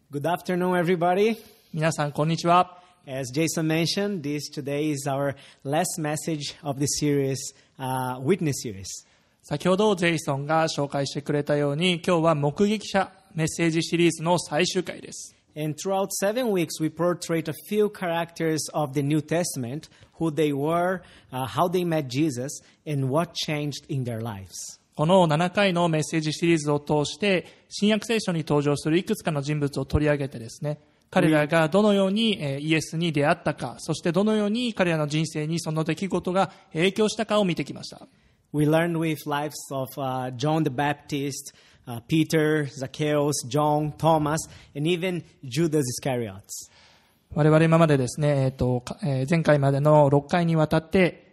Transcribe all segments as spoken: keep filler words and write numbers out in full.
Good afternoon, everybody. 皆さんこんにちは。 As Jason mentioned, this today is our last message of the series, uh, Witness series. 先ほどジェイソンが紹介してくれたように、今日は目撃者メッセージシリーズの最終回です。 And throughout seven weeks, we portrayed a few characters of the New Testament, who they were, uh, how they met Jesus, and what changed in their lives. このななかいのメッセージシリーズを通して、新約聖書に登場するいくつかの人物を取り上げてですね、彼らがどのようにイエスに出会ったか、そしてどのように彼らの人生にその出来事が影響したかを見てきました。 We learned with lives of uh, John the Baptist, uh, Peter, Zacchaeus, John, Thomas, and even Judas Iscariot. 我々今までですね、えーとえー、前回までのろっかいにわたって、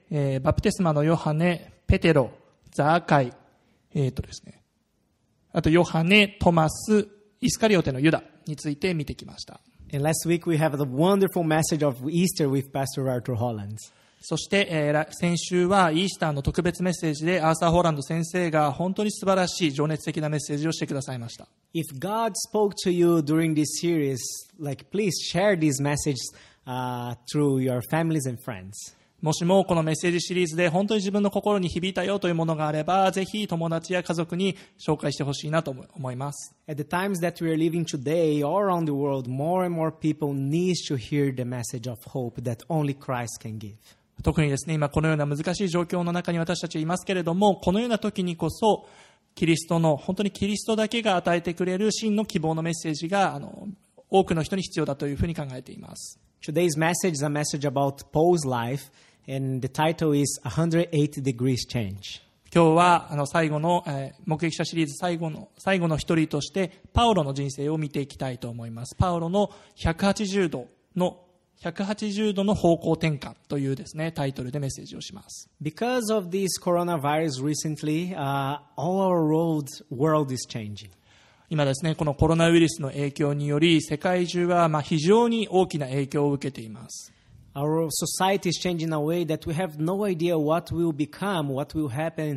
えー、バプテスマのヨハネ、ペテロ、ザーカイ、えーとですね、あとヨハネ、トマス、イスカリオテのユダについて見てきました。 And last week we have the wonderful message of Easter with Pastor Arthur Holland. そして、えー、先週はイースターの特別メッセージでアーサー・ホーランド先生が本当に素晴らしい情熱的なメッセージをしてくださいました。 If God spoke to you during this series, like please share this message uh, through your families and friends. もしもこのメッセージシリーズで本当に自分の心に響いたよというものがあれば、ぜひ友達や家族に紹介してほしいなと思います。 At the times that we are living today, all around the world, more and more people need to hear the message of hope that only Christ can give. 特にですね、今このような難しい状況の中に私たちはいますけれども、このような時にこそ、キリストの、本当にキリストだけが与えてくれる真の希望のメッセージが、あの、多くの人に必要だというふうに考えています。 Today's message is a message about Paul's life.And the title is one hundred eighty degrees change. 今日はあの最後の、えー、目撃者シリーズ最後の最後の一人としてパウロの人生を見ていきたいと思います。パウロのひゃくはちじゅうどのひゃくはちじゅうどの方向転換というですねタイトルでメッセージをします。 Because of this coronavirus recently, uh, all our world world is changing. 今ですねこのコロナウイルスの影響により世界中はまあ非常に大きな影響を受けています。 Our society is changing in a way that we have no idea what will become, what will happen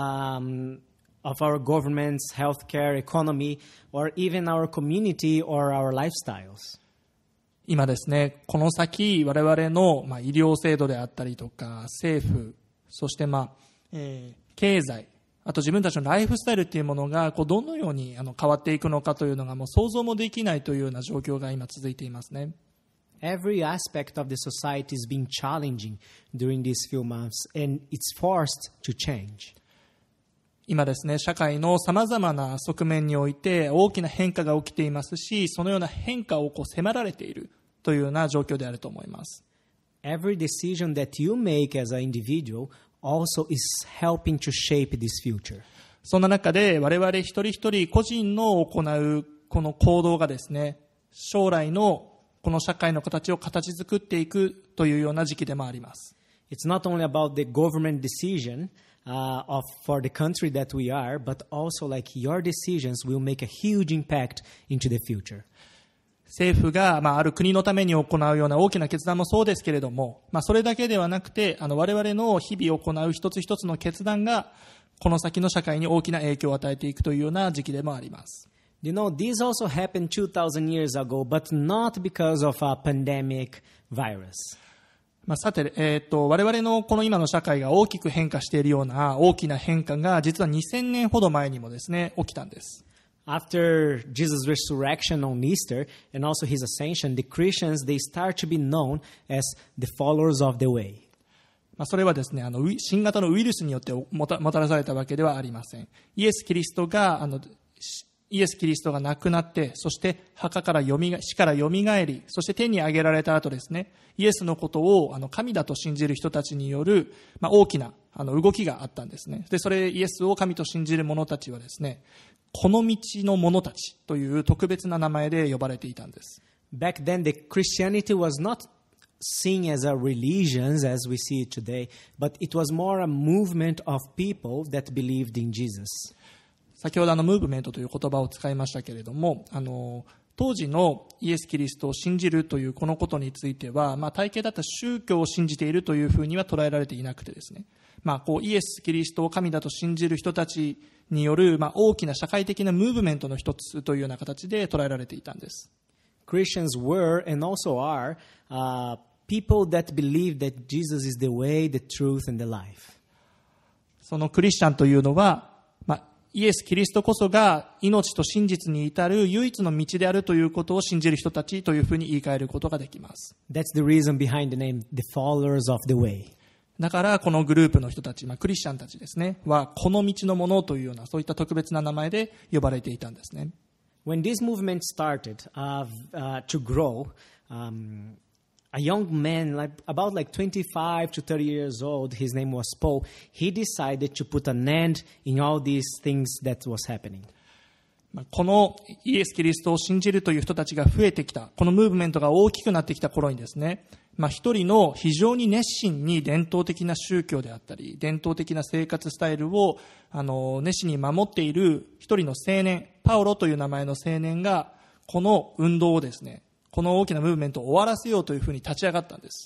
um, of our governments, healthcare, economy, or even our community or our lifestyles. 今ですね、この先我々の、まあ、医療制度であったりとか政府、そして、まあえー、経済、あと自分たちのライフスタイルというものがこうどのようにあの変わっていくのかというのがもう想像もできないというような状況が今続いていますね。 Every aspect of the society is being challenging during these few months, and it's forced to change. 今ですね、社会のさまざまな側面において大きな変化が起きていますし、そのような変化をこう迫られているというような状況であると思います。 Every decision that you make as an individual also is helping to shape this future. そんな中で我々一人一人個人の行うこの行動がですね、将来のこの社会の形を形作っていくというような時期でもあります。 It's not only about the government decision uh, of for the country that we are, but also like your decisions will make a huge impact into the future. 政府が、まあ、ある国のために行うような大きな決断もそうですけれども、まあ、それだけではなくて、あの我々の日々行う一つ一つの決断がこの先の社会に大きな影響を与えていくというような時期でもあります。 You know, this also happened two thousand years ago, but not because of a pandemic virus. まあ、さて、えーと、我々のこの今の社会が大きく変化しているような大きな変化が実はにせんねんほど前にもですね、起きたんです。 After Jesus' resurrection on Easter and also his ascension, the Christians, they start to be known as the followers of the way. まあ、それはですね、あの新型のウイルスによってもた、もたらされたわけではありません。イエス・キリストがあのイエス・キリストが亡くなって、そして墓からよみが死からよみがえり、そして天に上げられた後ですね、イエスのことをあの神だと信じる人たちによる、まあ、大きなあの動きがあったんですね。で、それイエスを神と信じる者たちはですね、この道の者たちという特別な名前で呼ばれていたんです。 Back then, the Christianity was not seen as a religion as we see it today, but it was more a movement of people that believed in Jesus. 先ほどあのムーブメントという言葉を使いましたけれども、あの当時のイエス・キリストを信じるというこのことについては、まあ、体系だった宗教を信じているというふうには捉えられていなくてですね、まあ、こうイエス・キリストを神だと信じる人たちによる、まあ、大きな社会的なムーブメントの一つというような形で捉えられていたんです。 Christians were and also are uh, people that believe that Jesus is the way, the truth, and the life. そのクリスチャンというのは、まあ、イエス・キリストこそが命と真実に至る唯一の道であるということを信じる人たちというふうに言い換えることができます。 That's the reason behind the name, the followers of the way. だからこのグループの人たち、まあ、クリスチャンたちですね、はこの道のものというようなそういった特別な名前で呼ばれていたんですね。 When this movement started uh, uh, to grow, um, a young man, like about like twenty-five to thirty years old, his name was Paul, he decided to put an end in all these things that was happening. このイエス・キリストを信じるという人たちが増えてきた、このムーブメントが大きくなってきた頃にですね、まあ、一人の非常に熱心に伝統的な宗教であったり、伝統的な生活スタイルをあの熱心に守っている一人の青年、パウロという名前の青年が、この運動をですね、この大きなムーブメントを終わらせようというふうに立ち上がったんです。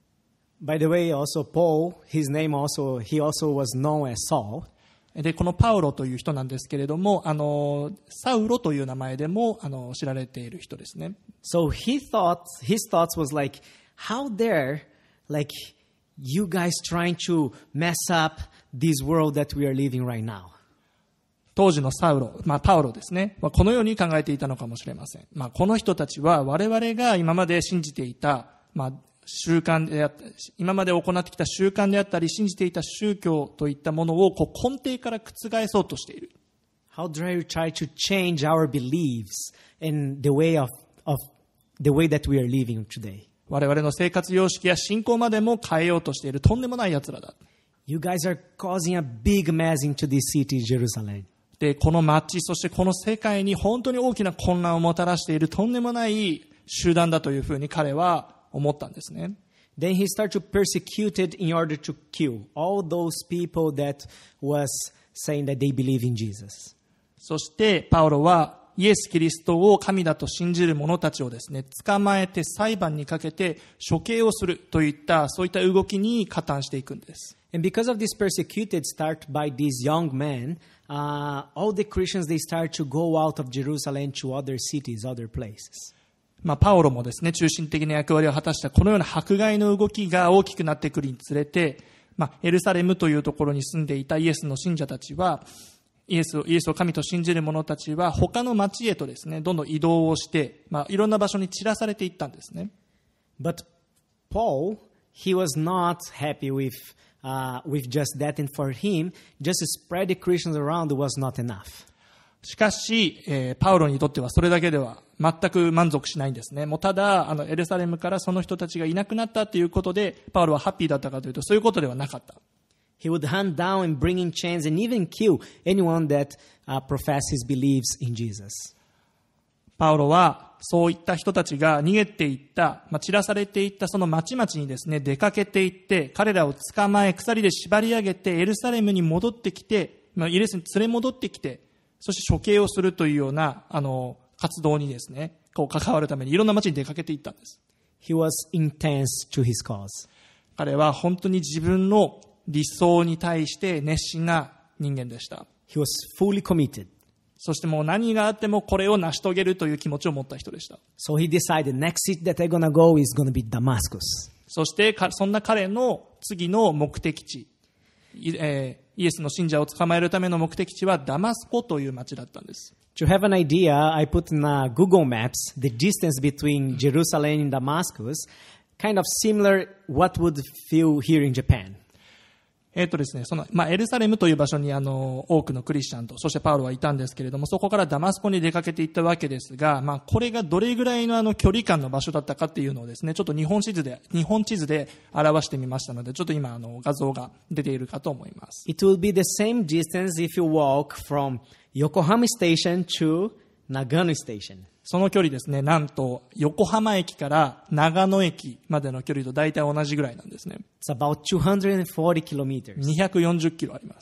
By the way, also Paul, his name also, he also was known as Saul. で、このパウロという人なんですけれども、あの、サウロという名前でも、あの、知られている人ですね。 So he thought, his thoughts was like, how dare, like, you guys trying to mess up this world that we are living right now? 当時のサウロ、まあ、パウロですね。このように考えていたのかもしれません。まあ、この人たちは我々が今まで信じていた、まあ、習慣であったり、今まで行ってきた習慣であったり、信じていた宗教といったものをこう根底から覆そうとしている。 How dare you try to change our beliefs and the way of, of the way that we are living today? 我々の生活様式や信仰までも変えようとしているとんでもない奴らだ。 You guys are causing a big mess into this city, Jerusalem. で、この街、そしてこの世界に本当に大きな混乱をもたらしているとんでもない集団だというふうに彼は思ったんですね。 Then he started to persecute it in order to kill all those people that was saying that they believe in Jesus. そしてパウロはイエス・キリストを神だと信じる者たちをですね、捕まえて裁判にかけて処刑をするといったそういった動きに加担していくんです。 And because of this persecuted start by these young men, uh, all the Christians, they start to go out of Jerusalem to other cities, other places. まあ、パウロもですね、中心的な役割を果たしたこのような迫害の動きが大きくなってくるにつれて、まあ、エルサレムというところに住んでいたイエスの信者たちは、イエスを、イエスを神と信じる者たちは他の町へとですね、どんどん移動をして、まあ、いろんな場所に散らされていったんですね。 But Paul, he was not happy with, uh, with just that, and for him, just to spread the Christians around was not enough. しかし、えー、パウロにとってはそれだけでは全く満足しないんですね。もうただ、あの、エルサレムからその人たちがいなくなったということで、パウロはハッピーだったかというと、そういうことではなかった。 He would hunt down and bring in chains and even kill anyone that uh, professed his beliefs in Jesus. パウロは、そういった人たちが逃げていった、まあ、散らされていったその町々にですね、出かけていって、彼らを捕まえ、鎖で縛り上げて、エルサレムに戻ってきて、まあ、イエスに連れ戻ってきて、そして処刑をするというような、あの、活動にですね、こう関わるためにいろんな町に出かけていったんです。 He was intense to his cause. 彼は本当に自分の理想に対して熱心な人間でした。 He was fully committed. そしてもう何があってもこれを成し遂げるという気持ちを持った人でした。 So he decided next city that I'm gonna go is gonna be Damascus. そしてそんな彼の次の目的地、えー、イエスの信者を捕まえるための目的地はダマスコという町だったんです。 To have an idea, I put in uh, Google Maps the distance between Jerusalem and Damascus, kind of similar what would feel here in Japan. えっとですね、その、まあ、エルサレムという場所にあの、多くのクリスチャンと、そしてパウロはいたんですけれども、そこからダマスコに出かけていったわけですが、まあ、これがどれぐらいのあの、距離感の場所だったかっていうのをですね、ちょっと日本地図で、日本地図で表してみましたので、ちょっと今あの、画像が出ているかと思います。 It will be the same distance if you walk from Yokohama Station to Nagano Station. その距離ですね、なんと横浜駅から長野駅までの距離と大体同じぐらいなんですね。 It's about two hundred forty kilometers. にひゃくよんじゅっキロあります。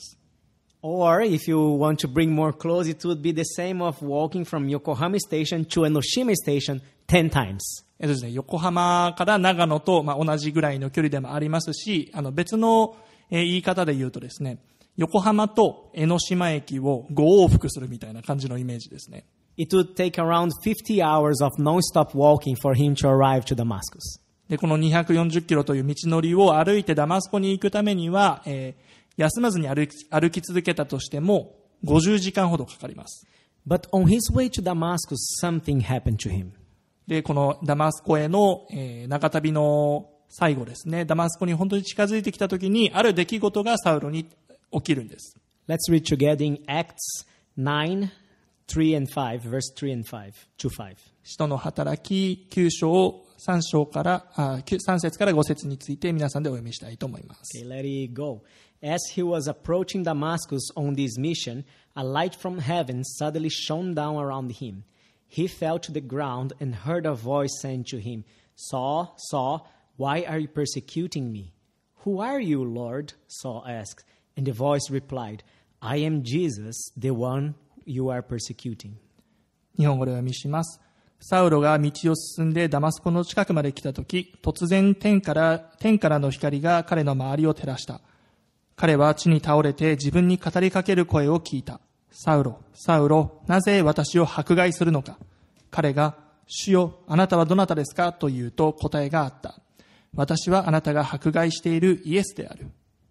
Or if you want to bring more close, it would be the same of walking from Yokohama Station to Enoshima Station ten times. えっとですね、横浜から長野と、まあ、同じぐらいの距離でもありますし、あの別の、えー、言い方で言うとですね、横浜と江ノ島駅をご往復するみたいな感じのイメージですね。 It would take around fifty hours of non-stop walking for him to arrive to Damascus. で、このにひゃくよんじゅっキロという道のりを歩いてダマスコに行くためには、えー、休まずに歩き、歩き続けたとしてもごじゅうじかんほどかかります。 But on his way to Damascus, something happened to him. で、このダマスコへの、えー、長旅の最後ですね、ダマスコに本当に近づいてきたときに、ある出来事がサウロに起きるんです。 Let's read together in Acts nine, three and five, verse three and five, two five. 使徒の働ききゅう章さん章からあさん節からご節について皆さんでお読みしたいと思います。 Okay, let it go. As he was approaching Damascus on this mission, a light from heaven suddenly shone down around him. He fell to the ground and heard a voice saying to him, Saul, Saul, why are you persecuting me? Who are you, Lord? Saul asked. And the voice replied, I am Jesus, the one you are persecuting. 日本語でお読みします。サウロが道を進んでダマスコの近くまで来たとき、突然天から、天からの光が彼の周りを照らした。彼は地に倒れて自分に語りかける声を聞いた。サウロ、サウロ、なぜ私を迫害するのか。彼が、主よ、あなたはどなたですかと言うと答えがあった。私はあなたが迫害しているイエスである。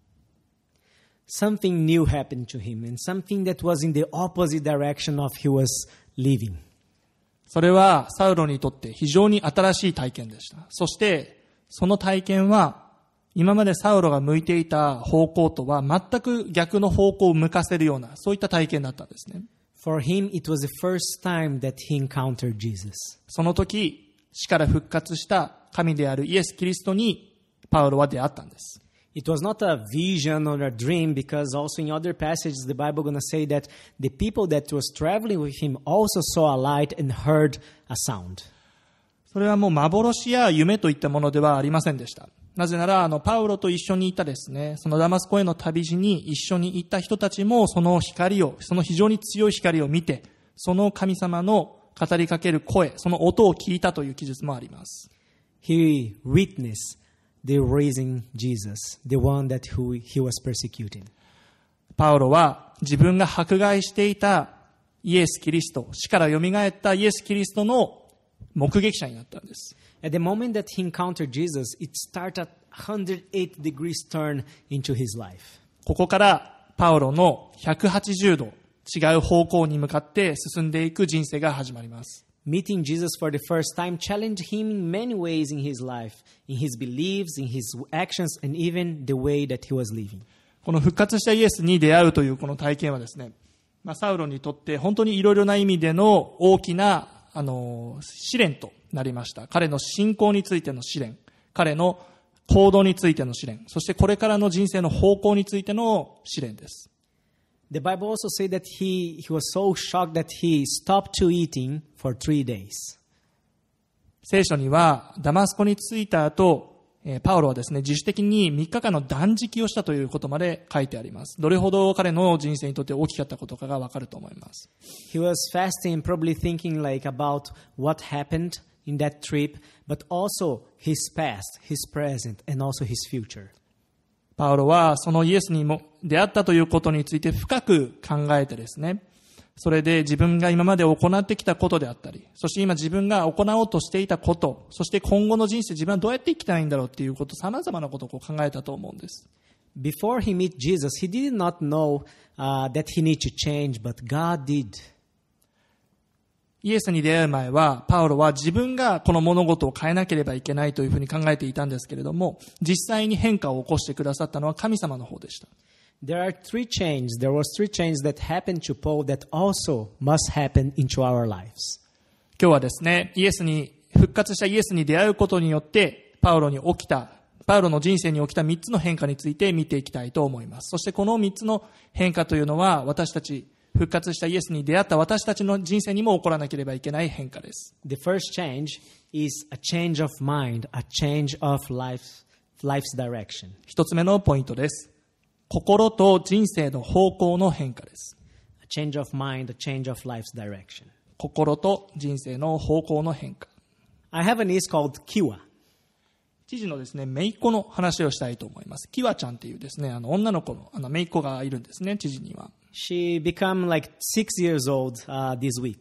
Something new happened to him, and something that was in the opposite direction of he was living. それはサウロにとって非常に新しい体験でした。そしてその体験は今までサウロが向いていた方向とは全く逆の方向を向かせるようなそういった体験だったんですね。 For him, it was the first time that he encountered Jesus. その時死から復活した神であるイエス・キリストにパウロは出会ったんです。 It was not a vision or a dream, because also in other passages the Bible is going to say that the people that was traveling with him also saw a light and heard a sound. それはもう幻や夢といったものではありませんでした。なぜならあのパウロと一緒にいたですね、そのダマスコへの旅路に一緒に行った人たちもその光を、その非常に強い光を見て、その神様の語りかける声、その音を聞いたという記述もあります。 He witnessed the risen Jesus, the one that who he was persecuting. パウロは自分が迫害していたイエス・キリスト、死から蘇ったイエス・キリストの目撃者になったんです。 At the moment that he encountered Jesus, it started a one hundred eight degrees turn into his life. ここからパウロのひゃくはちじゅうど違う方向に向かって進んでいく人生が始まります。 Meeting Jesus for the first time challenged him in many ways in his life, in his beliefs, in his actions, and even the way that he was living. この復活したイエスに出会うというこの体験はですね、まあ、サウロにとって本当にいろいろな意味での大きなあの試練となりました。彼の信仰についての試練、彼の行動についての試練、そしてこれからの人生の方向についての試練です。 The Bible also says that he, he was so shocked that he stopped to eating for three days. 聖書にはダマスコに着いた後、パウロはですね、自主的にみっかかんの断食をしたということまで書いてあります。どれほど彼の人生にとって大きかったことかがわかると思います。 He was fasting, probably thinking like about what happened in that trip, but also his past, his present, and also his future. パウロはそのイエスにも出会ったということについて深く考えてですね、それで自分が今まで行ってきたことであったり、そして今自分が行おうとしていたこと、そして今後の人生自分はどうやって生きたいんだろうっていうこと、様々なことをこう考えたと思うんです。 Before he met Jesus, he did not know、uh, that he needed to change, but God did. イエスに出会う前は、パウロは自分がこの物事を変えなければいけないというふうに考えていたんですけれども、実際に変化を起こしてくださったのは神様の方でした。 There are three changes. There was three changes that happened to Paul that also must happen into our lives. 今日はですね、イエスに、復活したイエスに出会うことによって、パウロに起きた、パウロの人生に起きたみっつの変化について見ていきたいと思います。そしてこのみっつの変化というのは、私たち、復活したイエスに出会った私たちの人生にも起こらなければいけない変化です。 The first change is a change of mind, a change of life, life's direction. 一つ目のポイントです。心と人生の方向の変化です。 A change of mind, a change of life's direction. 心と人生の方向の変化。 I have a niece called Kiwa. 知事のですね、姪っ子の話をしたいと思います。キワちゃんっていうですね、あの女の子のあの姪っ子がいるんですね、知事には。 She became like six years old、uh, this week.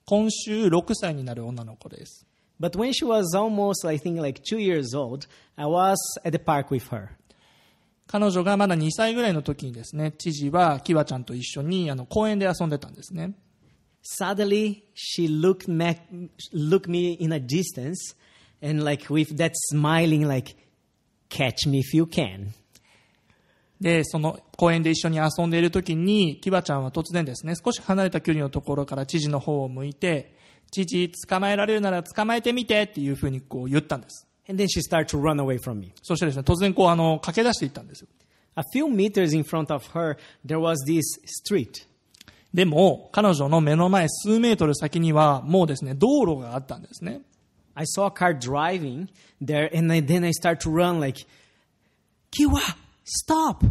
今週ろくさいになる女の子です。 But when she was almost, I think, like two years old, I was at the park with her. 彼女がまだにさいぐらいの時にですね、知事はキワちゃんと一緒にあの公園で遊んでたんですね。 Suddenly, she looked me, looked me in a distance, and like with that smiling, like, catch me if you can. で、その公園で一緒に遊んでいる時に、キワちゃんは突然ですね、少し離れた距離のところから知事の方を向いて、知事、捕まえられるなら捕まえてみてっていうふうにこう言ったんです。 And then she started to run away from me. そしてですね、突然こうあの駆け出していったんですよ。 A few meters in front of her, there was this street. でも、彼女の目の前数メートル先にはもうですね、道路があったんですね。 I saw a car driving there, and I, then I started to run like, Kiwa, stop,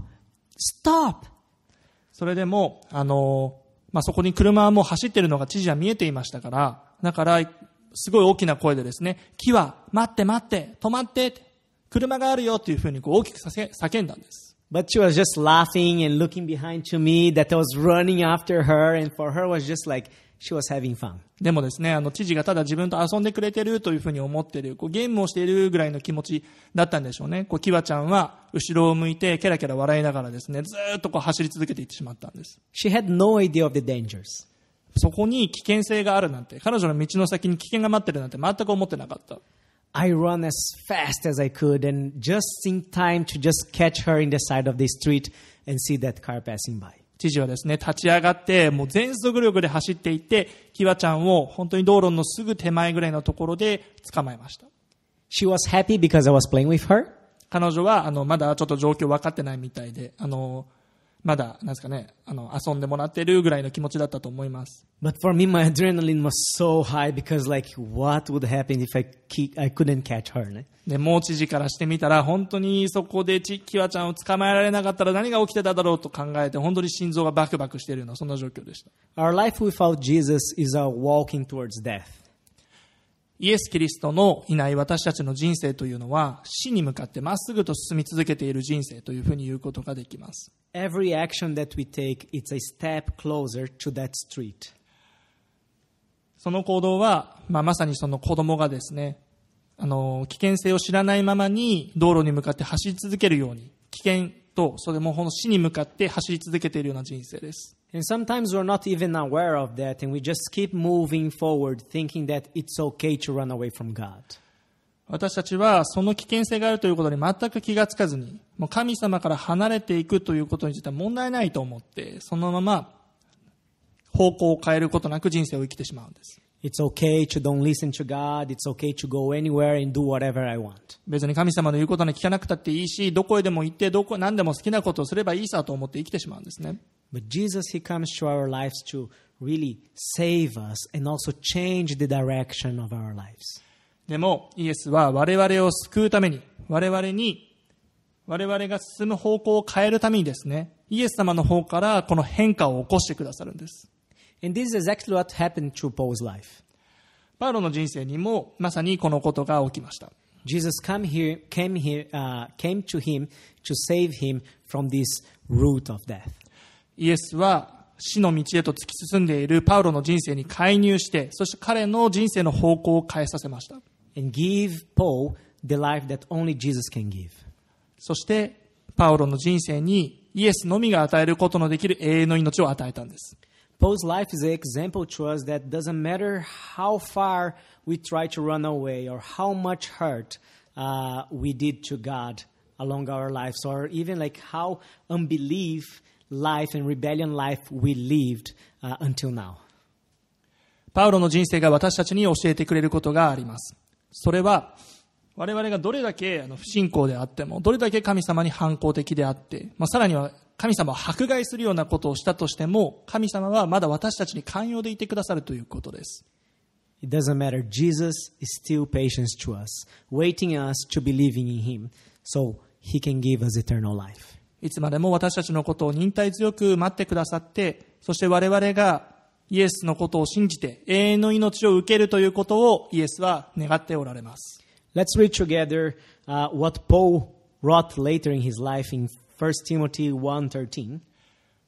stop. それでも、あの、まあ、そこに車はもう走っているのが知事は見えていましたから、だから、すごい大きな声でですね、キワ、待って待って、止まって、車があるよっていうふうにこう大きく叫んだんです。 But she was just laughing and looking behind to me that I was running after her, and for her was just like she was having fun. でもですね、あの知事がただ自分と遊んでくれてるというふうに思っている、こうゲームをしているぐらいの気持ちだったんでしょうね。こうキワちゃんは後ろを向いてケラケラ笑いながらですね、ずーっとこう走り続けていってしまったんです。 She had no idea of the dangers. そこに危険性があるなんて、彼女の道の先に危険が待ってるなんて全く思ってなかった。 I ran as fast as I could and just in time to just catch her in the side of the street and see that car passing by. 知事はですね、立ち上がって、もう全速力で走っていって、キワちゃんを本当に道路のすぐ手前ぐらいのところで捕まえました。 She was happy because I was playing with her. 彼女は、あの、まだちょっと状況分かってないみたいで、あの、まだ、なんですかね、あの、遊んでもらってるぐらいの気持ちだったと思います。 But for me, my adrenaline was so high because, like, what would happen if I, keep, I couldn't catch her? ね? で、もう知事からしてみたら、本当にそこでキワちゃんを捕まえられなかったら何が起きてただろうと考えて、本当に心臓がバクバクしているような、そんな状況でした。 Our life without Jesus is a walking towards death. イエス・キリストのいない私たちの人生というのは、死に向かってまっすぐと進み続けている人生というふうに言うことができます。 Every action that we take, it's a step closer to that street. その行動は、まあ、まさにその子供がですね、あの、危険性を知らないままに道路に向かって走り続けるように、危険と、それもこの死に向かって走り続けているような人生です。 And sometimes we're not even aware of that, and we just keep moving forward, thinking that it's okay to run away from God. 私たちはその危険性があるということに全く気がつかずに、もう神様から離れていくということについては問題ないと思って、そのまま方向を変えることなく人生を生きてしまうんです。 It's okay to don't listen to God. It's okay to go anywhere and do whatever I want. 別に神様の言うことに聞かなくたっていいし、どこへでも行って、どこ、何でも好きなことをすればいいさと思って生きてしまうんですね。 But Jesus, He comes to our lives to really save us and also change the direction of our lives. でも、イエスは我々を救うために、我々に、我々が進む方向を変えるためにですね、イエス様の方からこの変化を起こしてくださるんです。 And this is exactly what happened to Paul's life. パウロの人生にもまさにこのことが起きました。 Jesus come here, came, here, uh, came to him to save him from this root of death. イエスは死の道へと突き進んでいるパウロの人生に介入して、そして彼の人生の方向を変えさせました。 And give Paul the life that only Jesus can give. そしてパウロの人生にイエスのみが与えることのできる永遠の命を与えたんです。 Paul's life is an example to us that doesn't matter how far we try to run away or how much hurt uh, we did to God along our lives, or even like how unbelief life and rebellion life we lived uh, until now. パウロの人生が私たちに教えてくれることがあります。それは我々がどれだけあの不信仰であっても、どれだけ神様に反抗的であって、まあ、さらには神様を迫害するようなことをしたとしても、神様はまだ私たちに寛容でいてくださるということです。 It doesn't matter. Jesus is still patient to us, waiting us to believing in Him, so He can give us eternal life. いつまでも私たちのことを忍耐強く待ってくださって、そして我々がイエスのことを信じて永遠の命を受けるということをイエスは願っておられます。 Let's read together uh, what Paul wrote later in his life in First Timothy one thirteen.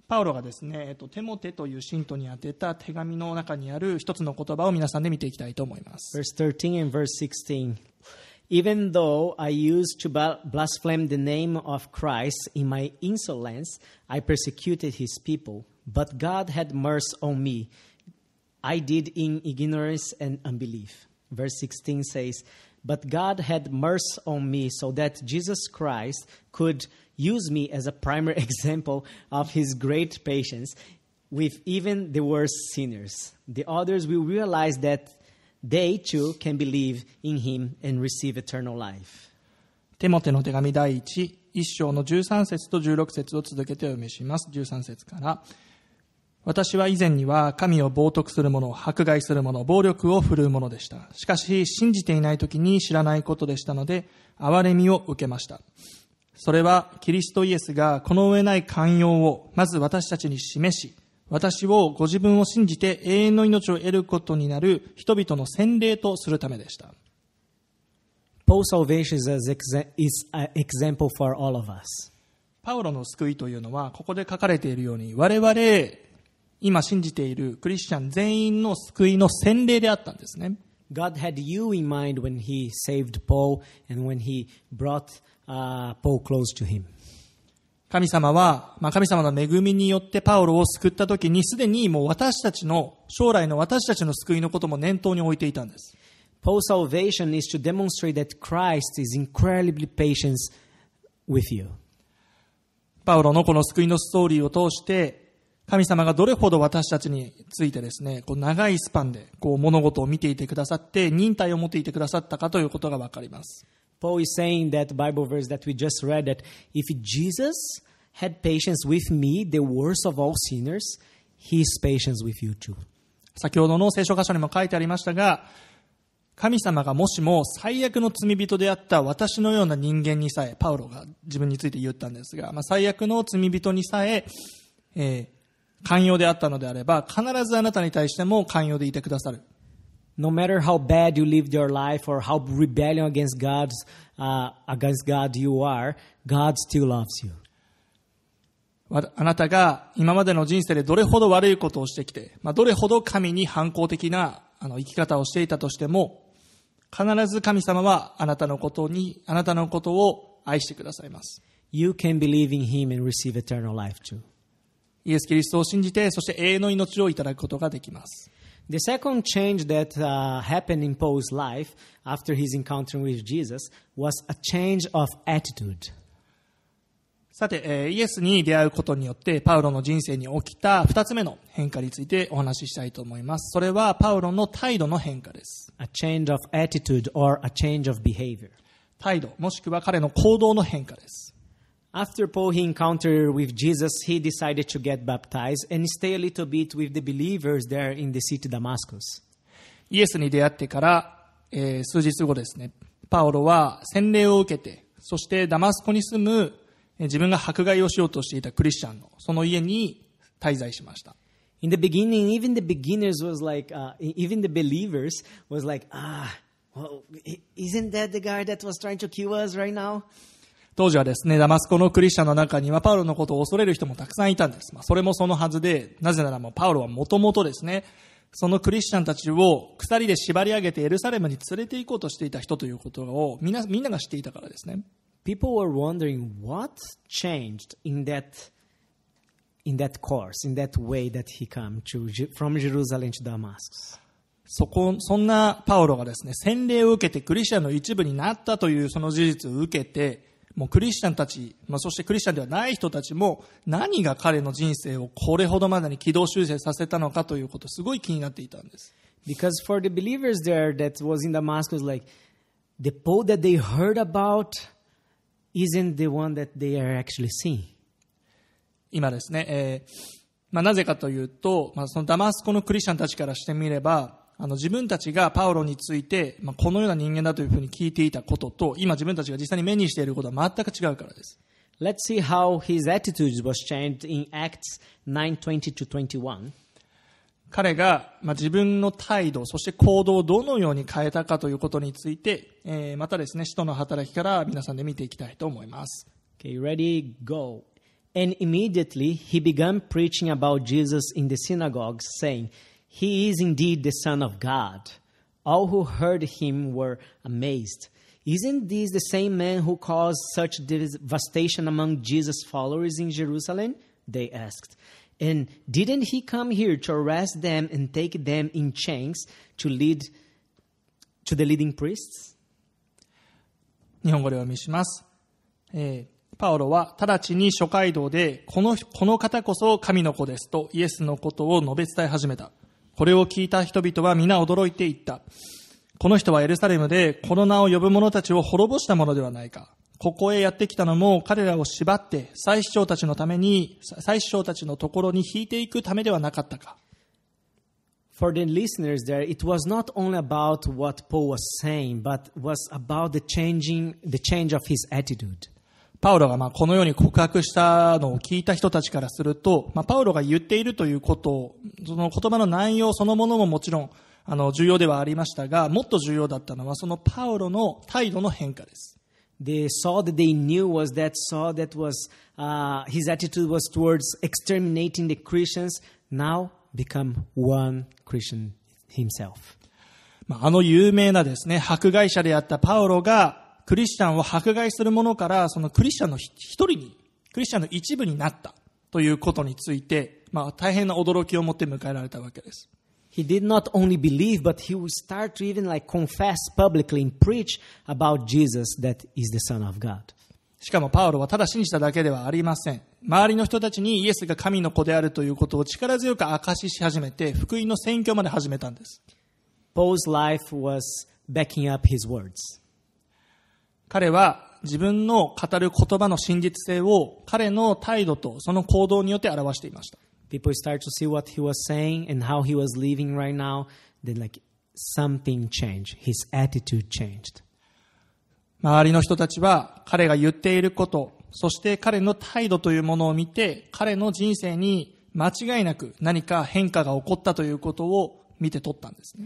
パウロがですね、えっと、テモテという信徒に宛てた手紙の中にある一つの言葉を皆さんで見ていきたいと思います。 Verse thirteen and verse sixteen. Even though I used to blaspheme the name of Christ in my insolence, I persecuted his people. But God had mercy on me. I did in ignorance and unbelief. Verse sixteen says, But God had mercy on me so that Jesus Christ could use me as a primary example of his great patience with even the worst sinners. The others will realize that they too can believe in him and receive eternal life. テモテの手紙第一、一章のじゅうさん節とじゅうろく節を続けてお読みします。じゅうさん節から。私は以前には神を冒涜する者、迫害する者、暴力を振るう者でした。しかし信じていない時に知らないことでしたので、憐れみを受けました。それはキリストイエスがこの上ない寛容をまず私たちに示し、私をご自分を信じて永遠の命を得ることになる人々の洗礼とするためでした。 Paul's salvation is an example for all of us. パウロの救いというのは、ここで書かれているように、我々、今信じているクリスチャン全員の救いの洗礼であったんですね。 God had you in mind when he saved Paul and when he brought、uh, Paul close to him. 神様は、まあ、神様の恵みによってパウロを救ったときに、すでにもう私たちの、将来の私たちの救いのことも念頭に置いていたんです。 Paul's salvation is to demonstrate that Christ is incredibly patient with you. パウロのこの救いのストーリーを通して、神様がどれほど私たちについてですね、こう長いスパンでこう物事を見ていてくださって、忍耐を持っていてくださったかということがわかります。 Paul is saying that Bible verse that we just read that if Jesus had patience with me, the worst of all sinners, he is patient with you too. 先ほどの聖書箇所にも書いてありましたが、神様がもしも最悪の罪人であった私のような人間にさえ、パウロが自分について言ったんですが、まあ、最悪の罪人にさえ、えー寛容であったのであれば、必ずあなたに対しても寛容でいてくださる。 No matter how bad you lived your life or how rebellion against God's、uh, against God you are, God still loves you. あなたが今までの人生でどれほど悪いことをしてきて、まあ、どれほど神に反抗的なあの生き方をしていたとしても、必ず神様はあなたのことに、あなたのことを愛してくださいます。 You can believe in Him and receive eternal life too. イエス・キリストを信じて、そして永遠の命をいただくことができます。 The second change that、uh, happened in Paul's life after his encounter with Jesus was a change of attitude. さて、えー、イエスに出会うことによって、パウロの人生に起きた二つ目の変化についてお話ししたいと思います。それはパウロの態度の変化です。 A change of attitude or a change of behavior. 態度、もしくは彼の行動の変化です。 After Paul he encountered with Jesus, he decided to get baptized and stay a little bit with the believers there in the city Damascus. イエスに出会ってから、えー、数日後ですね、パウロは洗礼を受けて、そしてダマスコに住む自分が迫害をしようとしていたクリスチャンのその家に滞在しました。 In the beginning, even the beginners was like, uh, even the believers was like, ah, well, isn't that the guy that was trying to kill us right now? 当時はですね、ダマスコのクリスチャンの中にはパウロのことを恐れる人もたくさんいたんです。まあ、それもそのはずで、なぜならもうパウロはもともとですね、そのクリスチャンたちを鎖で縛り上げてエルサレムに連れて行こうとしていた人ということをみんな、みんなが知っていたからですね。 People were wondering what changed in that, in that course, in that way that he came to, from Jerusalem to Damascus. そこ、そんなパウロがですね、洗礼を受けてクリスチャンの一部になったというその事実を受けて、もうクリスチャンたち、まあ、そしてクリスチャンではない人たちも何が彼の人生をこれほどまでに軌道修正させたのかということすごい気になっていたんです。 Because for the believers there that was in Damascus, like the Paul that they heard about isn't the one that they are actually seeing. 今ですね、えーまあ、なぜかというと、まあ、そのダマスコのクリスチャンたちからしてみれば、あの自分たちがパウロについて、まあ、このような人間だというふうに聞いていたことと、今自分たちが実際に目にしていることは全く違うからです。 Let's see how his attitude was changed in Acts nine twenty to twenty-one. 彼が、まあ、自分の態度、そして行動をどのように変えたかということについて、えー、またですね、使徒の働きから皆さんで見ていきたいと思います。 Okay, ready, go. And immediately he began preaching about Jesus in the synagogues, saying, He is indeed the Son of God. All who heard him were amazed. Isn't this the same man who caused such devastation among Jesus' followers in Jerusalem? They asked. And didn't he come here to arrest them and take them in chains to lead to the leading priests? 日本語でお読みします。えーパウロは直ちに諸街道でこの、この方こそ神の子ですとイエスのことを述べ伝え始めた。これを聞いた人々は皆驚いていった。この人はエルサレムでこの名を呼ぶ者たちを滅ぼしたものではないか。ここへやってきたのも彼らを縛って祭司長たちのために、祭司長たちのところに引いていくためではなかったか。 For the listeners there, it was not only about what Paul was saying, but was about the changing, the change of his attitude. パウロがまあこのように告白したのを聞いた人たちからすると、まあ、パウロが言っているということを、その言葉の内容そのものももちろんあの重要ではありましたが、もっと重要だったのはそのパウロの態度の変化です。 The Saul that they knew was that Saul that was, uh, his attitude was towards exterminating the Christians, now become one Christian himself. まあ、あの有名なですね、迫害者であったパウロが、クリスチャンを迫害する者からそのクリスチャンの一人に、クリスチャンの一部になったということについて、まあ大変な驚きを持って迎えられたわけです。 He did not only believe, but he would start to even like confess publicly and preach about Jesus that is the Son of God. しかもパウロはただ信じただけではありません。周りの人たちにイエスが神の子であるということを力強く証しし始めて、福音の宣教まで始めたんです。 Paul's life was backing up his words. 彼は自分の語る言葉の真実性を彼の態度とその行動によって表していました。 People start to see what he was saying and how he was living right now. Then like something changed. His attitude changed. 周りの人たちは彼が言っていること、そして彼の態度というものを見て、彼の人生に間違いなく何か変化が起こったということを見て取ったんですね。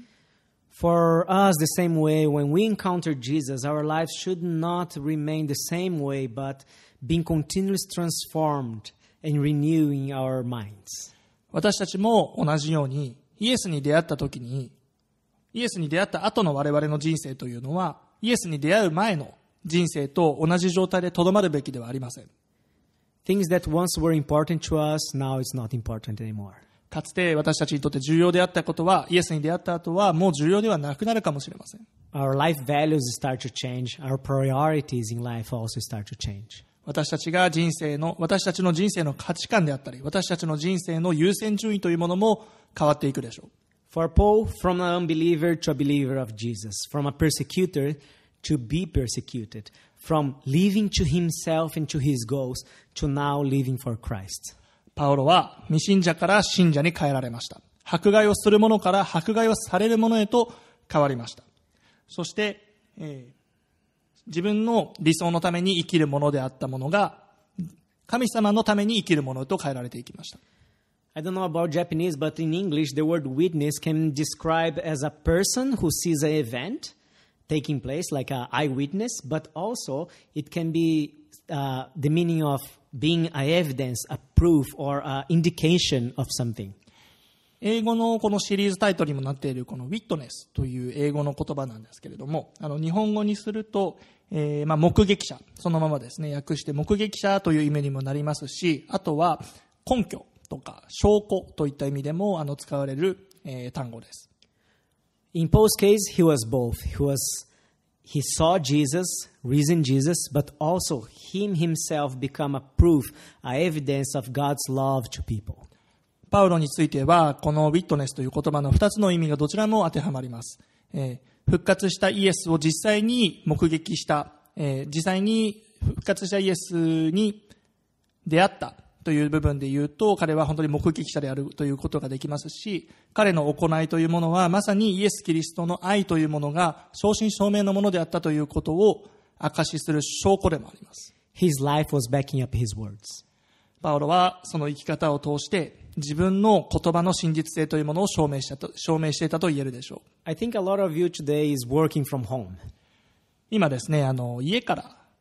For us, the same way, when we encounter Jesus, our lives should not remain the same way, but being continuously transformed and renewing our minds. 私たちも同じように、イエスに出会った時に、イエスに出会った後の我々の人生というのは、イエスに出会う前の人生と同じ状態でとどまるべきではありません。 Things that once were important to us, now it's not important anymore. かつて私たちにとって重要であったことは、イエスに出会った後はもう重要ではなくなるかもしれません。 Our life values start to change. Our priorities in life also start to change. 私たちが人生の、私たちの人生の価値観であったり、私たちの人生の優先順位というものも変わっていくでしょう。 For Paul, from an unbeliever to a believer of Jesus, from a persecutor to be persecuted, from living to himself and to his goals to now living for Christ. パウロは未信者から信者に変えられました。迫害をする者から迫害をされる者へと変わりました。そして、えー、自分の理想のために生きるものであったものが神様のために生きるものと変えられていきました。 I don't know about Japanese, but in English, the word witness can describe as a person who sees an event taking place, like an eyewitness, but also it can be uh, the meaning of being an evidence, a proof, or an indication of something. 英語のこのシリーズタイトルにもなっているこのウィットネスという英語の言葉なんですけれども、あの日本語にすると、えーまあ、目撃者、そのままですね、訳して目撃者という意味にもなりますし、あとは根拠とか証拠といった意味でもあの使われる、えー、単語です。 In Paul's case, he was both. He was, he saw Jesus, risen Jesus, but also him himself become a proof, a evidence of God's love to people. パウロについてはこのウィットネスという言葉の二つの意味がどちらも当てはまります。えー、復活したイエスを実際に目撃した、えー、実際に復活したイエスに出会ったという部分で言うと、彼は本当に目撃者であるということができますし、彼の行いというものはまさにイエス・キリストの愛というものが正真正銘のものであったということを証しする証拠でもあります。 His life was backing up his words. パウロはその生き方を通して自分の言葉の真実性というものを証明したと、証明していたと言えるでしょう。 I think a lot of you today is working from home. 今ですね、あの家から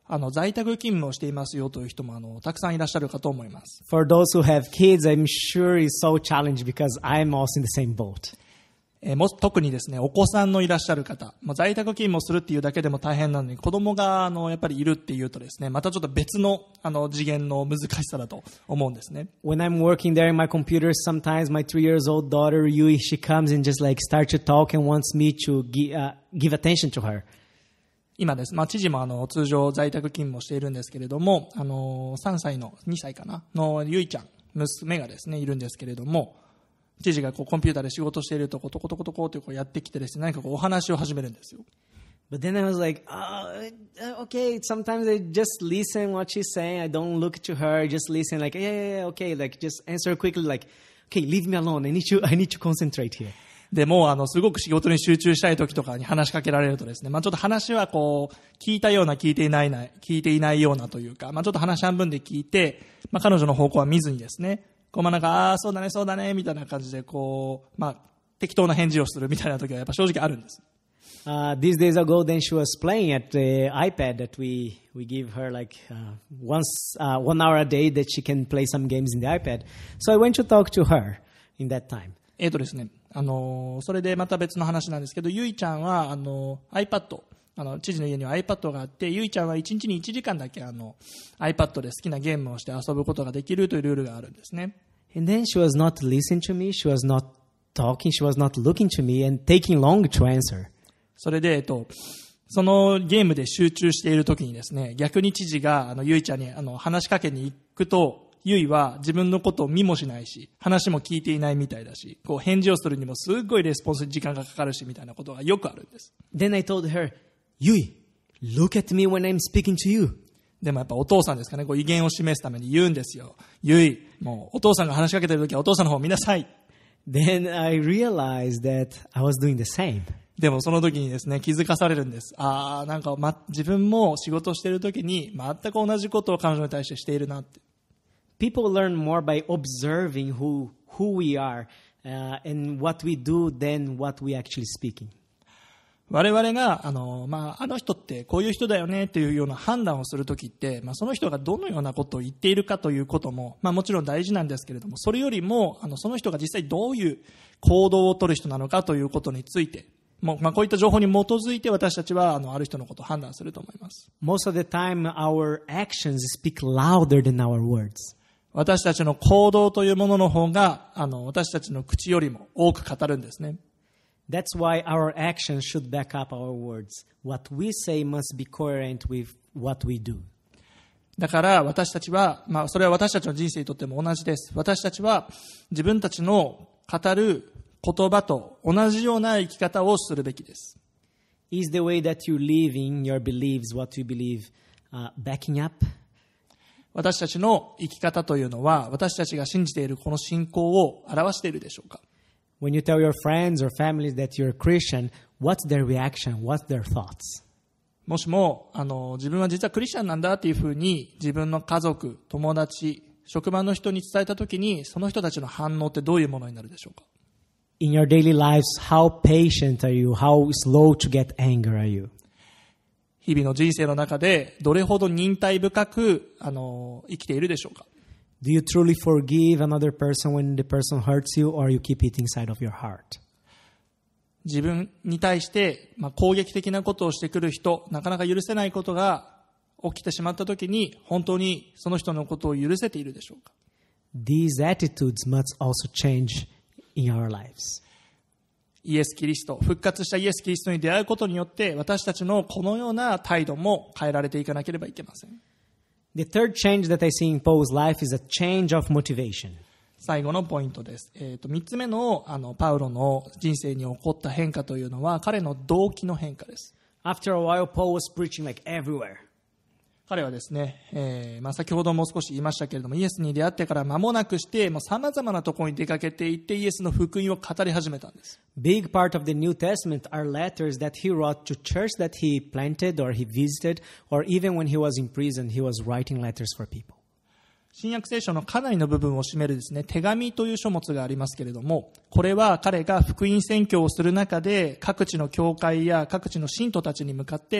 あの在宅勤務をしていますよという人もあのたくさんいらっしゃるかと思います。 For those who have kids, I'm sure it's so challenging because I'm also in the same boat. えー、も特にですね、お子さんのいらっしゃる方、まあ、在宅勤務をするっていうだけでも大変なのに、子供があのやっぱりいるっていうとですね、またちょっと別のあの次元の難しさだと思うんですね。 When I'm working there in my computer, sometimes my three years old daughter Yui, she comes and just like start to talk and wants me to give, uh, give attention to her. 今です、まあ、知事もあの通常在宅勤務をしているんですけれども、あのさんさいのにさいかなのゆいちゃん、娘がですねいるんですけれども、知事がこうコンピューターで仕事しているとこトコトコトコってこうやってきてですね、何かこうお話を始めるんですよ。 But then I was like, oh, okay, sometimes I just listen what she's saying. I don't look to her, just listen like, yeah, yeah, yeah, okay, like just answer quickly like, okay, leave me alone. I need to, I need to concentrate here. でもうあのすごく仕事に集中したい時とかに話しかけられるとですね、まあちょっと話はこう聞いたような聞いていないな聞いていないようなというか、まあちょっと話半分で聞いて、まあ彼女の方向は見ずにですね、こうまあなんかああそうだねそうだねみたいな感じでこうまあ適当な返事をするみたいな時はやっぱ正直あるんです。 Uh, these days ago, then she was playing at the iPad that we, we give her like uh, once uh, one hour a day that she can play some games in the iPad. So I went to talk to her in that time. えーとですね、あのー、それでまた別の話なんですけど、ゆいちゃんはあの iPad、あの知事の家には iPad があって、ゆいちゃんはいちにちにいちじかんだけあの iPad で好きなゲームをして遊ぶことができるというルールがあるんですね。 And then she was not listening to me, she was not talking, she was not looking to me and taking long to answer. それで、えっと、そのゲームで集中しているときにですね、逆に知事があのゆいちゃんにあの話しかけに行くと、ゆいは自分のことを見もしないし、話も聞いていないみたいだし、こう返事をするにもすっごいレスポンスに時間がかかるしみたいなことがよくあるんです。 Then I told her, Yui, look at me when I'm speaking to you. でもやっぱお父さんですかね、こう威厳を示すために言うんですよ。ゆい、もうお父さんが話しかけてるときはお父さんの方を見なさい。 Then I realized that I was doing the same. でもその時にですね、気づかされるんです。ああ、なんか、ま、自分も仕事をしている時に全く同じことを彼女に対してしているなって。 People learn more by observing who, who we are uh, and what we do than what we actually speaking. 我々が、あの、まあ、あの人ってこういう人だよねっていうような判断をするときって、まあ、その人がどのようなことを言っているかということも、まあ、もちろん大事なんですけれども、それよりも、あの、その人が実際どういう行動を取る人なのかということについて、もうまあ、こういった情報に基づいて私たちはあのある人のことを判断すると思います。 Most of the time, our actions speak louder than our words. 私たちの行動というものの方があの私たちの口よりも多く語るんですね。 That's why our actions should back up our words. What we say must be coherent with what we do. だから私たちは、まあ、それは私たちの人生にとっても同じです。私たちは自分たちの語る言葉と同じような生き方をするべきです。 Is the way that you live in your beliefs, what you believe, uh, backing up? 私たちの生き方というのは、私たちが信じているこの信仰を表しているでしょうか？ When you tell your friends or families that you're a Christian, what's their reaction? What's their thoughts? もしもあの自分は実はクリスチャンなんだっていうふうに自分の家族、友達、職場の人に伝えたときに、その人たちの反応ってどういうものになるでしょうか ？In your daily lives, how patient are you? How slow to get anger are you? 日々の人生の中でどれほど忍耐深くあの生きているでしょうか？ Do you truly forgive another person when the person hurts you, or you keep it inside of your heart? 自分に対して、まあ、攻撃的なことをしてくる人、なかなか許せないことが起きてしまったときに、本当にその人のことを許せているでしょうか？ These attitudes must also change in our lives. イエス・キリスト、復活したイエス・キリストに出会うことによって、私たちのこのような態度も変えられていかなければいけません。 The third change that I see in Paul's life is a change of motivation. 最後のポイントです。えーと、三つ目の、あのパウロの人生に起こった変化というのは、彼の動機の変化です。 After a while, Paul was preaching like everywhere. 彼はですね、えーまあ、先ほども少し言いましたけれども、イエスに出会ってから間もなくしてさまざまなところに出かけていってイエスの福音を語り始めたんです。 Big part of the New Testament are letters that he wrote to church that he planted or he visited, or even when he was in prison, he was writing letters for people. 新約聖書のかなりの部分を占めるですね、手紙という書物がありますけれども、これは彼が福音宣教をする中で各地の教会や各地の信徒たちに向かって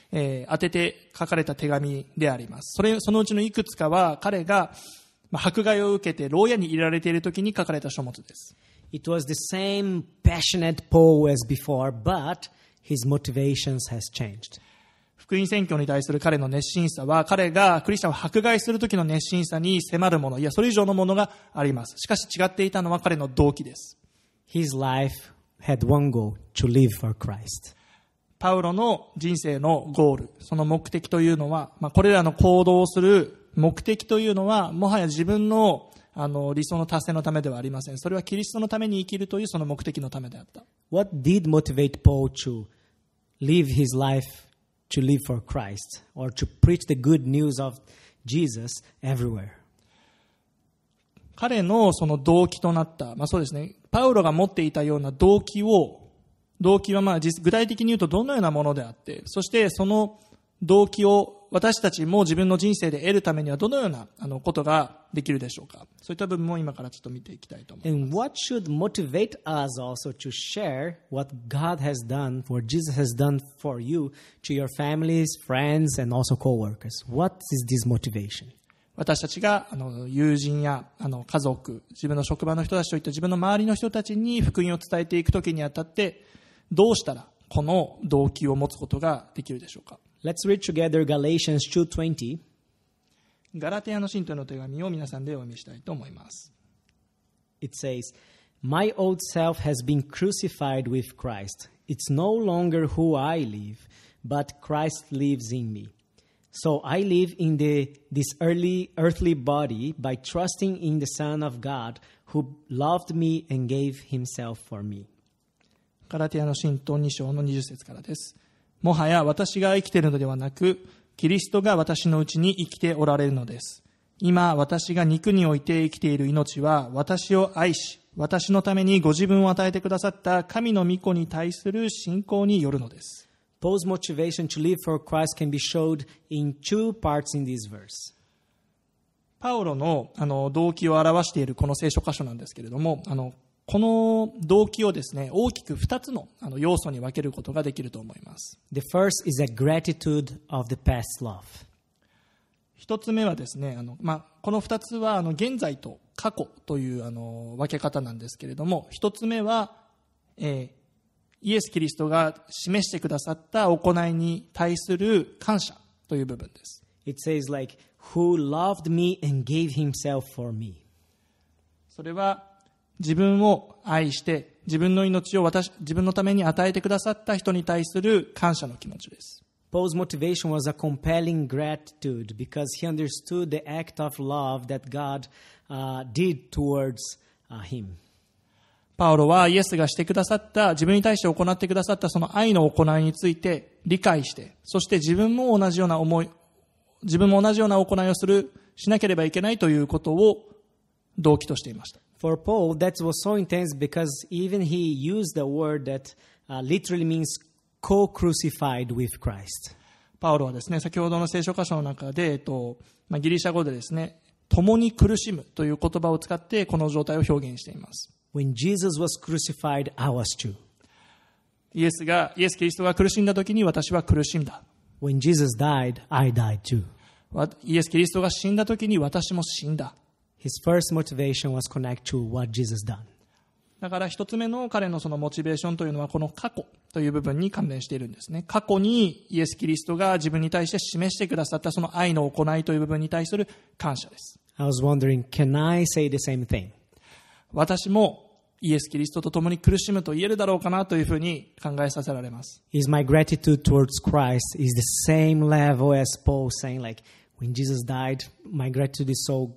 えー、当てて書かれた手紙であります。それ、そのうちのいくつかは彼が、まあ、迫害を受けて牢屋に入れられている時に書かれた書物です。 It was the same passionate Paul as before, but his motivations has changed. 福音宣教に対する彼の熱心さは、彼がクリスチャンを迫害する時の熱心さに迫るもの、いやそれ以上のものがあります。しかし違っていたのは彼の動機です。 His life had one goal, to live for Christ. パウロの人生のゴール、その目的というのは、まあ、これらの行動をする目的というのは、もはや自分のあの理想の達成のためではありません。それはキリストのために生きるというその目的のためであった。 What did motivate Paul to live his life to live for Christ or to preach the good news of Jesus everywhere? 彼のその動機となった、まあそうですね、パウロが持っていたような動機を、動機はまあ具体的に言うとどのようなものであって、そしてその動機を私たちも自分の人生で得るためにはどのようなあのことができるでしょうか。そういった部分も今からちょっと見ていきたいと思います。 And what should motivate us also to share what God has done, what Jesus has done for you, to your families, friends, and also co-workers? What is this motivation? 私たちがあの友人やあの家族、自分の職場の人たちといった自分の周りの人たちに福音を伝えていくときにあたって、どうしたらこの動機を持つことができるでしょうか。 Let's read together Galatians two twenty. ガラテヤの信徒の手紙を皆さんでお読みしたいと思います。 It says, My old self has been crucified with Christ. It's no longer who I live, but Christ lives in me. So I live in the, this early earthly body by trusting in the Son of God who loved me and gave himself for me. ガラテヤの信徒に章のにじゅっ節からです。もはや私が生きているのではなく、キリストが私のうちに生きておられるのです。今私が肉において生きている命は、私を愛し、私のためにご自分を与えてくださった神の御子に対する信仰によるのです。 Paul's motivation to live for Christ can be showed in two parts in this verse. パウロの、あの動機を表しているこの聖書箇所なんですけれども、あのこの動機をですね、大きく二つのあの要素に分けることができると思います。 The first is a gratitude of the past love. 一つ目はですね、あのまあ、この二つはあの現在と過去というあの分け方なんですけれども、一つ目は、えー、イエス・キリストが示してくださった行いに対する感謝という部分です。 It says like, who loved me and gave himself for me. それは自分を愛して自分の命を私自分のために与えてくださった人に対する感謝の気持ちです。 Paul's motivation was a compelling gratitude because he understood the act of love that God uh, did towards uh, him. パウロはイエスがしてくださった自分に対して行ってくださったその愛の行いについて理解して、そして自分も同じような思い、自分も同じような行いをするしなければいけないということを動機としていました。 For Paul, that was so intense because even he used a word that uh, literally means co-crucified with Christ. パウロはですね、先ほどの聖書箇所の中で、えっとまあ、ギリシャ語でですね、共に苦しむという言葉を使ってこの状態を表現しています。 When Jesus was crucified, I was too. イエスが、イエス・キリストが苦しんだ時に私は苦しんだ。 When Jesus died, I died too. イエス・キリストが死んだ時に私も死んだ。 His first motivation was connected to what Jesus done. だから一つ目の彼のそのモチベーションというのはこの過去という部分に関連しているんですね。過去にイエス・キリストが自分に対して示してくださったその愛の行いという部分に対する感謝です。 I was wondering, can I say the same thing? 私もイエス・キリストと共に苦しむと言えるだろうかなというふうに考えさせられます。 Is my gratitude towards Christ is the same level as Paul saying like, when Jesus died, my gratitude is so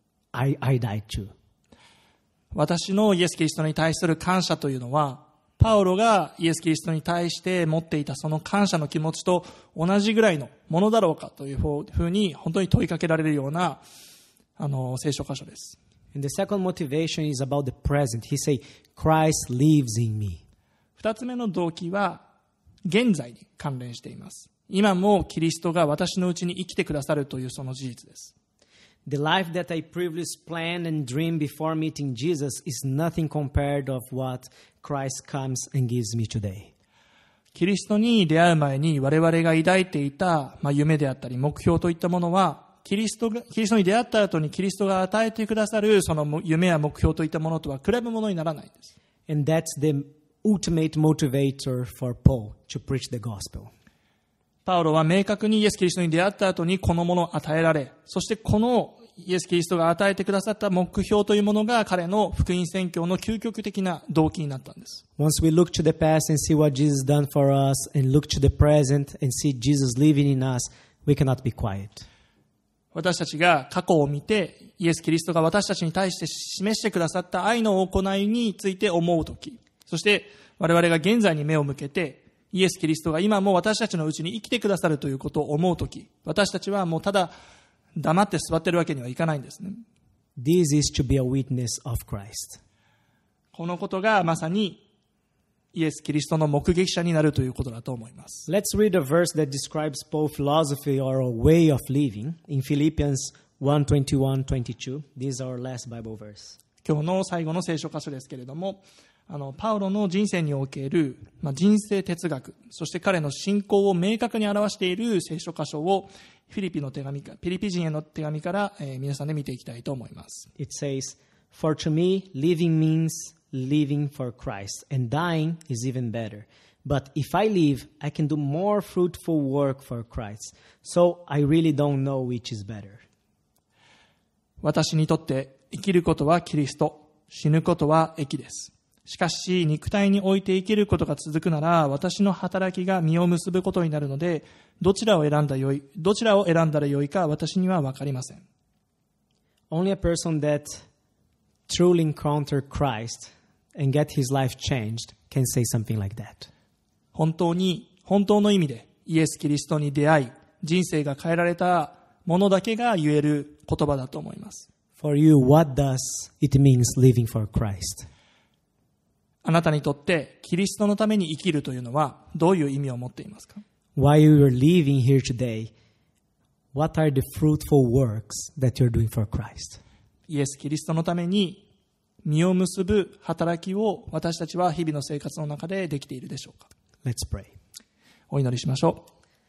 I, I died too. 私のイエス・キリストに対する感謝というのは、パウロがイエス・キリストに対して持っていたその感謝の気持ちと同じぐらいのものだろうかというふうに本当に問いかけられるようなあの聖書箇所です。 And the second motivation is about the present. He say, Christ lives in me. 二つ目の動機は現在に関連しています。今もキリストが私のうちに生きてくださるというその事実です。 The life that I previously planned and dreamed before meeting Jesus is nothing compared of what Christ comes and gives me today. キリストに出会う前に我々が抱いていた、まあ、夢であったり目標といったものは、キリストが、キリストに出会った後にキリストが与えてくださるその夢や目標といったものとは比べ物にならないんです。 And that's the ultimate motivator for Paul to preach the gospel. パウロは明確にイエス・キリストに出会った後にこのものを与えられ、そしてこのイエス・キリストが与えてくださった目標というものが彼の福音宣教の究極的な動機になったんです。 Once we look to the past and see what Jesus done for us and look to the present and see Jesus living in us, we cannot be quiet. 私たちが過去を見てイエス・キリストが私たちに対して示してくださった愛の行いについて思うとき、そして我々が現在に目を向けてイエス・キリストが今も私たちのうちに生きてくださるということを思うとき、私たちはもうただ黙って座ってるわけにはいかないんですね。 This is to be a witness of Christ. このことがまさにイエス・キリストの目撃者になるということだと思います。 Let's read a verse that describes Paul's philosophy or a way of living in Philippians one twenty-one twenty-two. This is our last Bible verse. 今日の最後の聖書箇所ですけれども、あのパウロの人生における、まあ、人生哲学、そして彼の信仰を明確に表している聖書箇所をフィリピの手紙か、フィリピ人への手紙から、えー、皆さんで見ていきたいと思います。 It says, For to me, living means living for Christ, and dying is even better. But if I live, I can do more fruitful work for Christ. So I really don't know which is better. 私にとって生きることはキリスト、死ぬことは益です。しかし肉体において生きることが続くなら、私の働きが実を結ぶことになるので、どちらを選んだよい、どちらを選んだらよいか私には分かりません。 Only a person that truly encountered Christ and get his life changed can say something like that. 本当に、本当の意味でイエス・キリストに出会い、人生が変えられた者だけが言える言葉だと思います。 For you, what does it mean living for Christ? あなたにとってキリストのために生きるというのはどういう意味を持っていますか？ While you are living here today, what are the fruitful works that you're doing for Christ? イエス・キリストのために実を結ぶ働きを私たちは日々の生活の中でできているでしょうか？ Let's pray. お祈りしましょ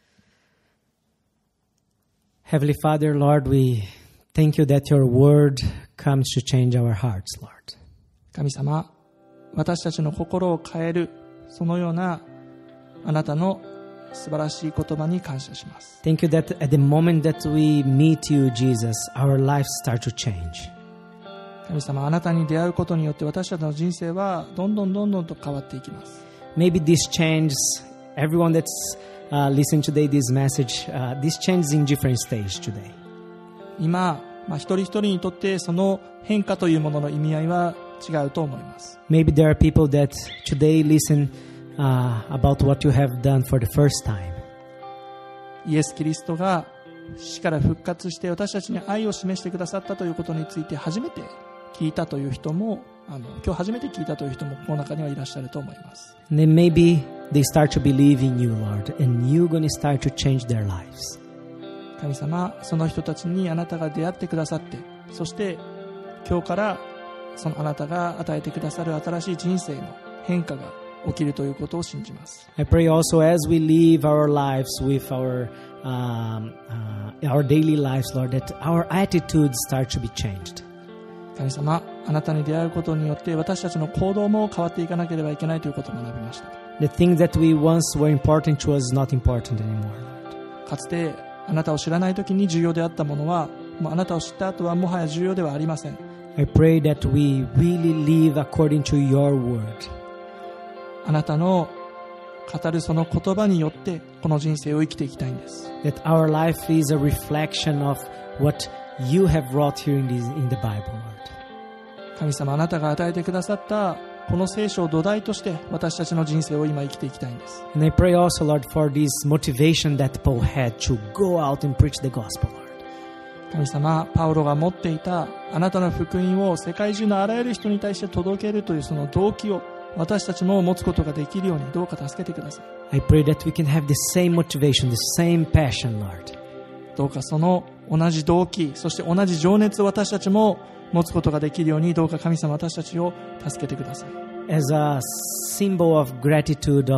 う。 Heavenly Father, Lord, we thank you that your word comes to change our hearts, Lord. 神様、私たちの心を変えるそのようなあなたの素晴らしい言葉に感謝します。 Thank you that at the moment that we meet you, Jesus, our lives start to change. 神様、あなたに出会うことによって私たちの人生はどんどんどんどんと変わっていきます。 Maybe this changes everyone that's uh, listening today this message, uh, this changes in different stages today. 今、まあ、一人一人にとってその変化というものの意味合いは違うと思います。 Maybe there are people that today listen uh, about what you have done for the first time. イエス・キリストが死から復活して私たちに愛を示してくださったということについて初めて聞いたという人も、あの今日初めて聞いたという人もこの中にはいらっしゃると思います。 And then maybe they start to believe in you, Lord, and you're going to start to change their lives. 神様、その人たちにあなたが出会ってくださって、そして今日からそのあなたが与えてくださる新しい人生の変化が起きるということを信じます。 I pray also as we live our lives with our um, uh, our daily lives, Lord, that our attitudes start to be changed. 神様、あなたに出会うことによって私たちの行動も変わっていかなければいけないということを学びました。 The things that we once were important to us is not important anymore, Lord. かつてあなたを知らない時に重要であったものは、もうあなたを知った後はもはや重要ではありません。 I pray that we really live according to your word. あなたの語るその言葉によってこの人生を生きていきたいんです。 That our life is a reflection of what you have wrought here in, this, in the Bible, Lord. 神様、あなたが与えてくださったこの聖書を土台として私たちの人生を今生きていきたいんです。 And I pray also, Lord, for this motivation that Paul had to go out and preach the gospel, Lord. 神様、パウロが持っていたあなたの福音を世界中のあらゆる人に対して届けるというその動機を私たちも持つことができるようにどうか助けてください。 I pray that we can have the same motivation, the same passion, Lord. どうかその同じ動機、そして同じ情熱を私たちも持つことができるようにどうか神様、私たちを助けてください。 As a symbol of gratitude of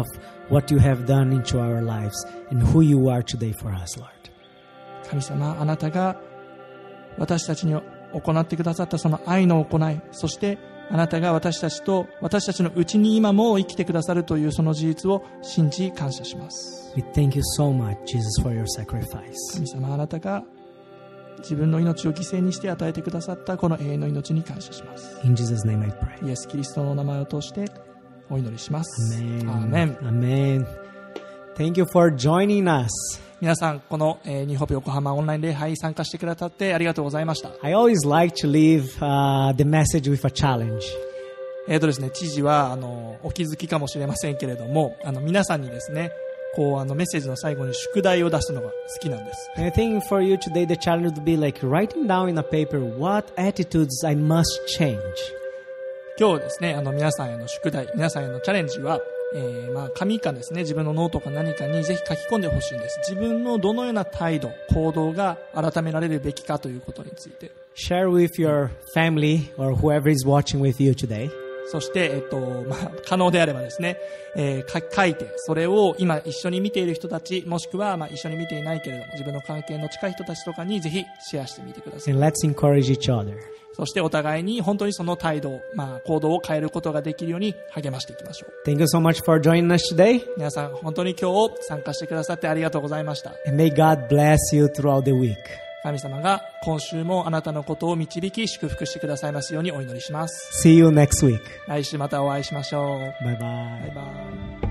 what you have done into our lives and who you are today for us, Lord. 神様、あなたが私たちに行ってくださったその愛の行い、そしてあなたが私たちと私たちのうちに今も生きてくださるというその事実を信じ感謝します。 We thank you so much, Jesus, for your sacrifice. 神様、あなたが自分の命を犠牲にして与えてくださったこの永遠の命に感謝します。 In Jesus' name I pray. イエス・キリストの名前を通してお祈りします。 Amen. アーメン。 Amen. Thank you for joining us. 皆さん、この、えー、ニューホープ横浜オンライン礼拝に参加してくださってありがとうございました。 I always like to leave uh, the message with a challenge. えーとですね、知事はあのお気づきかもしれませんけれども、あの皆さんにですね、こうあのメッセージの最後に宿題を出すのが好きなんです。 And I think for you today the challenge would be like writing down in a paper what attitudes I must change. 今日ですね、あの皆さんへの宿題、皆さんへのチャレンジは、えー、まあ紙かですね、自分のノートか何かにぜひ書き込んでほしいんです。自分のどのような態度、行動が改められるべきかということについて。 Share with your family or whoever is watching with you today. そして、えっとまあ、可能であればですね、えー、書いて、それを今一緒に見ている人たち、もしくはまあ一緒に見ていないけれども自分の関係の近い人たちとかにぜひシェアしてみてください。 And let's encourage each other. そしてお互いに本当にその態度、まあ、行動を変えることができるように励ましていきましょう。 Thank you so much for joining us today. 皆さん本当に今日参加してくださってありがとうございました。 And may God bless you throughout the week. 神様が今週もあなたのことを導き祝福してくださいますようにお祈りします。 See you next week. 来週またお会いしましょう。 Bye bye. バイバイ。